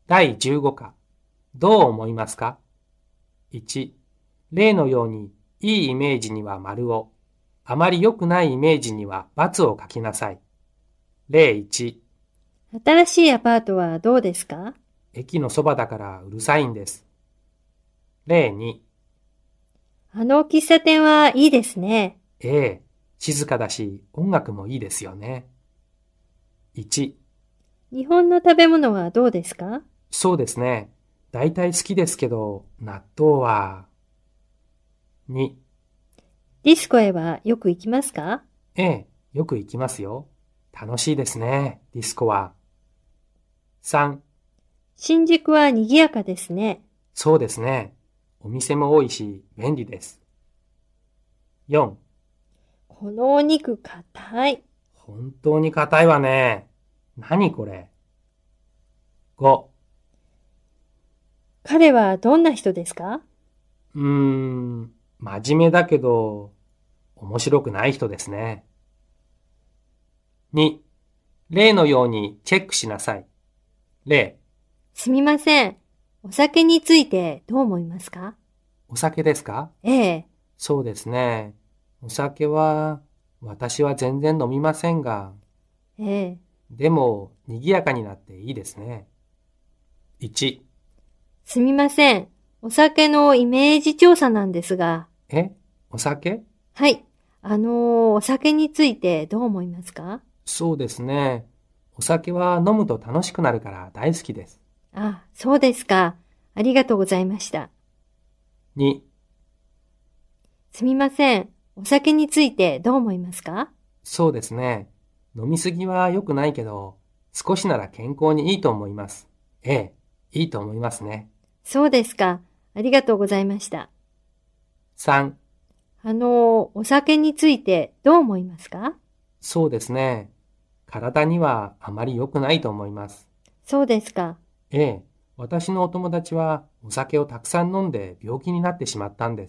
第15課。どう思いますか？ 1、例のようにいいイメージには丸を、あまり良くないイメージには×を書きなさい。例1、 新しいアパートはどうですか？ 駅のそばだからうるさいんです。例2、 あの喫茶店はいいですね。 ええ、静かだし音楽もいいですよね。1、 日本の食べ物はどうですか？ そうですね。大体好きですけど、納豆は。2、 ディスコへはよく行きますか？ ええ、よく行きますよ。楽しいですね、ディスコは。3、 新宿は賑やかですね。 そうですね。お店も多いし便利です。4、 このお肉硬い。 本当に硬いわね。何これ。5、 彼はどんな人ですか？ 真面目だけど、面白くない人ですね。2、例のようにチェックしなさい。例、 すみません。お酒についてどう思いますか？ お酒ですか？ ええ、 そうですね。お酒は、私は全然飲みませんが、 ええ。 でも、賑やかになっていいですね。1、 すみません。お酒のイメージ調査なんですが。 え、お酒？ はい。お酒についてどう思いますか？ そうですね。お酒は飲むと楽しくなるから大好きです。 あ、そうですか。ありがとうございました。 2、 すみません。お酒についてどう思いますか？ そうですね。飲みすぎは良くないけど、少しなら健康にいいと思います。ええ、いいと思いますね。 そうですか。ありがとうございました。 3、 お酒についてどう思いますか？ そうですね。体にはあまり良くないと思います。 そうですか。 ええ、私のお友達はお酒をたくさん飲んで病気になってしまったんです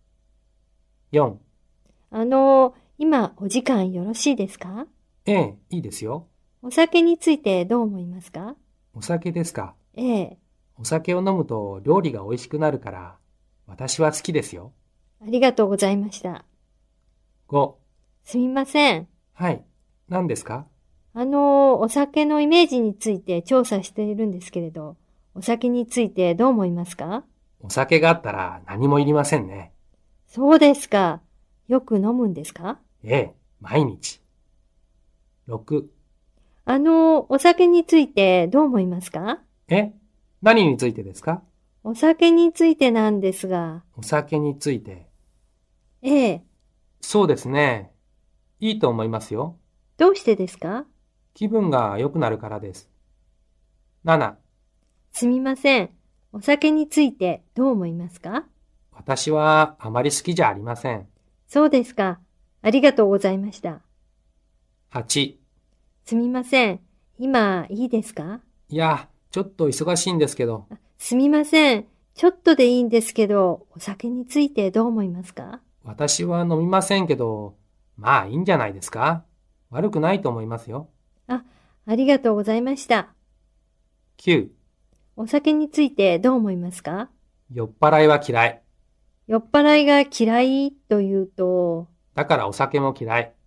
。4、 今お時間よろしいですか？ ええ、いいですよ。 お酒についてどう思いますか？ お酒ですか。 ええ、 お酒を飲むと料理が美味しくなるから、私は好きですよ。 ありがとうございました。 5、 すみません。 はい。何ですか？ お酒のイメージについて調査しているんですけれど、お酒についてどう思いますか？ お酒があったら何もいりませんね。 そうですか。よく飲むんですか？ ええ、毎日。6、 お酒についてどう思いますか？ え、何についてですか？ お酒についてなんですが、 お酒について。 ええ、 そうですね。いいと思いますよ。 どうしてですか？ 気分が良くなるからです。7、 すみません。お酒についてどう思いますか？ 私はあまり好きじゃありません。 そうですか。ありがとうございました。 8、 すみません。今いいですか？ いや、ちょっと忙しいんですけど、 すみません。ちょっとでいいんですけど、お酒についてどう思いますか？ 私は飲みませんけど、まあいいんじゃないですか？悪くないと思いますよ。 あ、ありがとうございました。 9、 お酒についてどう思いますか？ 酔っ払いは嫌い。 酔っ払いが嫌いというと、 だからお酒も嫌い。